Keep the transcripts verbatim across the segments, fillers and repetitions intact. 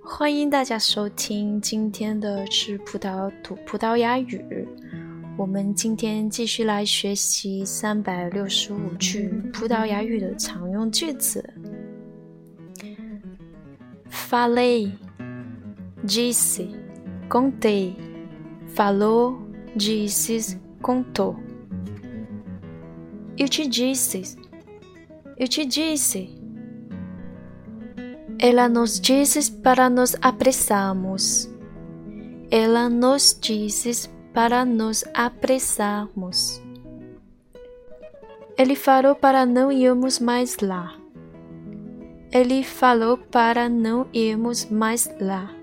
欢迎大家收听今天的吃葡萄吐葡萄牙语。我们今天继续来学习三百六十五句葡萄牙语的常用句子。Falei, disse, contei, falou, disse, contou. Eu te disse, eu te disse.Ela nos disse para nos apressarmos. Ela nos disse para nos apressarmos. Ele falou para não irmos mais lá. Ele falou para não irmos mais lá.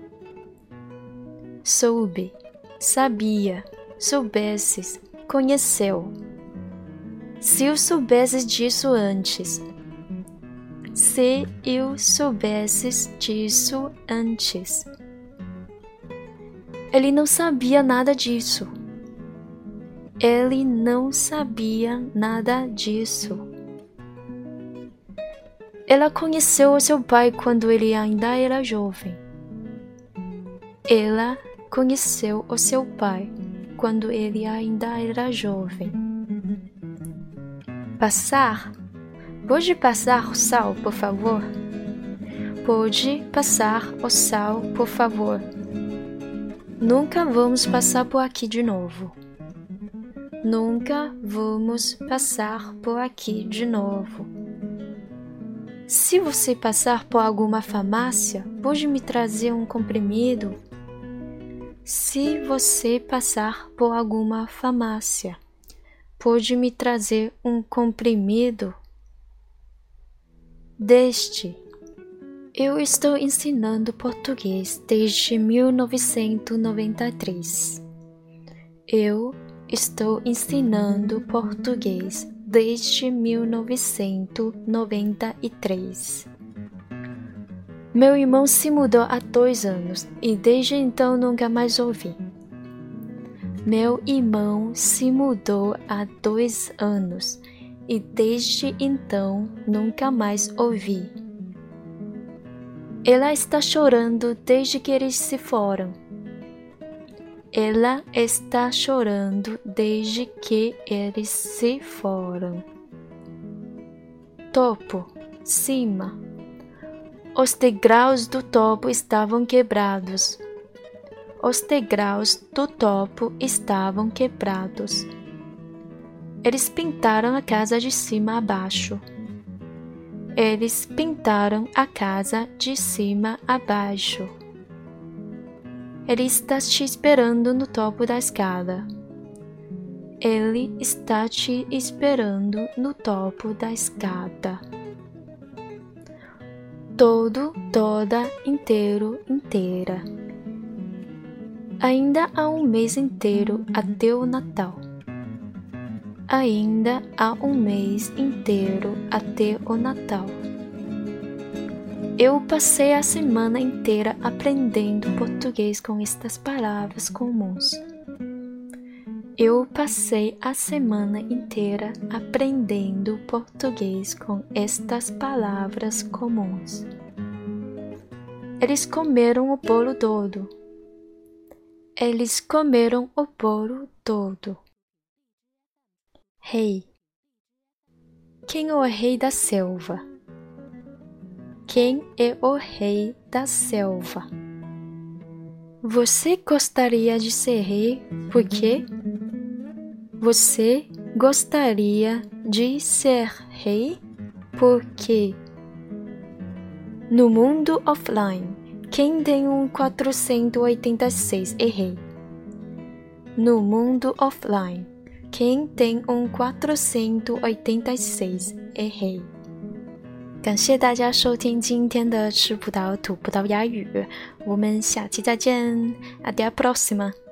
Soube, sabia, soubesses, conheceu. Se eu soubesses disso antes.Se eu soubesses disso antes. Ele não sabia nada disso. Ele não sabia nada disso. Ela conheceu o seu pai quando ele ainda era jovem. Ela conheceu o seu pai quando ele ainda era jovem. Passar.Pode passar o sal, por favor? Pode passar o sal, por favor? Nunca vamos passar por aqui de novo. Nunca vamos passar por aqui de novo. Se você passar por alguma farmácia, pode me trazer um comprimido? Se você passar por alguma farmácia, pode me trazer um comprimido?Desde. Eu estou ensinando português desde mil novecentos e noventa e três. Eu estou ensinando português desde mil novecentos e noventa e três. Meu irmão se mudou há dois anos e desde então nunca mais ouvi. Meu irmão se mudou há dois anos.E desde então nunca mais ouvi. Ela está chorando desde que eles se foram. Ela está chorando desde que eles se foram. Topo, cima. Os degraus do topo estavam quebrados. Os degraus do topo estavam quebrados.Eles pintaram a casa de cima a baixo. Eles pintaram a casa de cima a baixo. Ele está te esperando no topo da escada. Ele está te esperando no topo da escada. Todo, toda, inteiro, inteira. Ainda há um mês inteiro até o Natal.Ainda há um mês inteiro até o Natal. Eu passei a semana inteira aprendendo português com estas palavras comuns. Eu passei a semana inteira aprendendo português com estas palavras comuns. Eles comeram o bolo todo. Eles comeram o bolo todo.Rei. Quem é o rei da selva? Quem é o rei da selva? Você gostaria de ser rei? Por quê? Você gostaria de ser rei? Por quê? No mundo offline, quem tem um quatrocentos e oitenta e seis é rei. No mundo offline.Quem tem um quatrocentos e oitenta e seis é rei。感谢大家收听今天的吃葡萄吐葡萄牙语，我们下期再见 ，Até a próxima。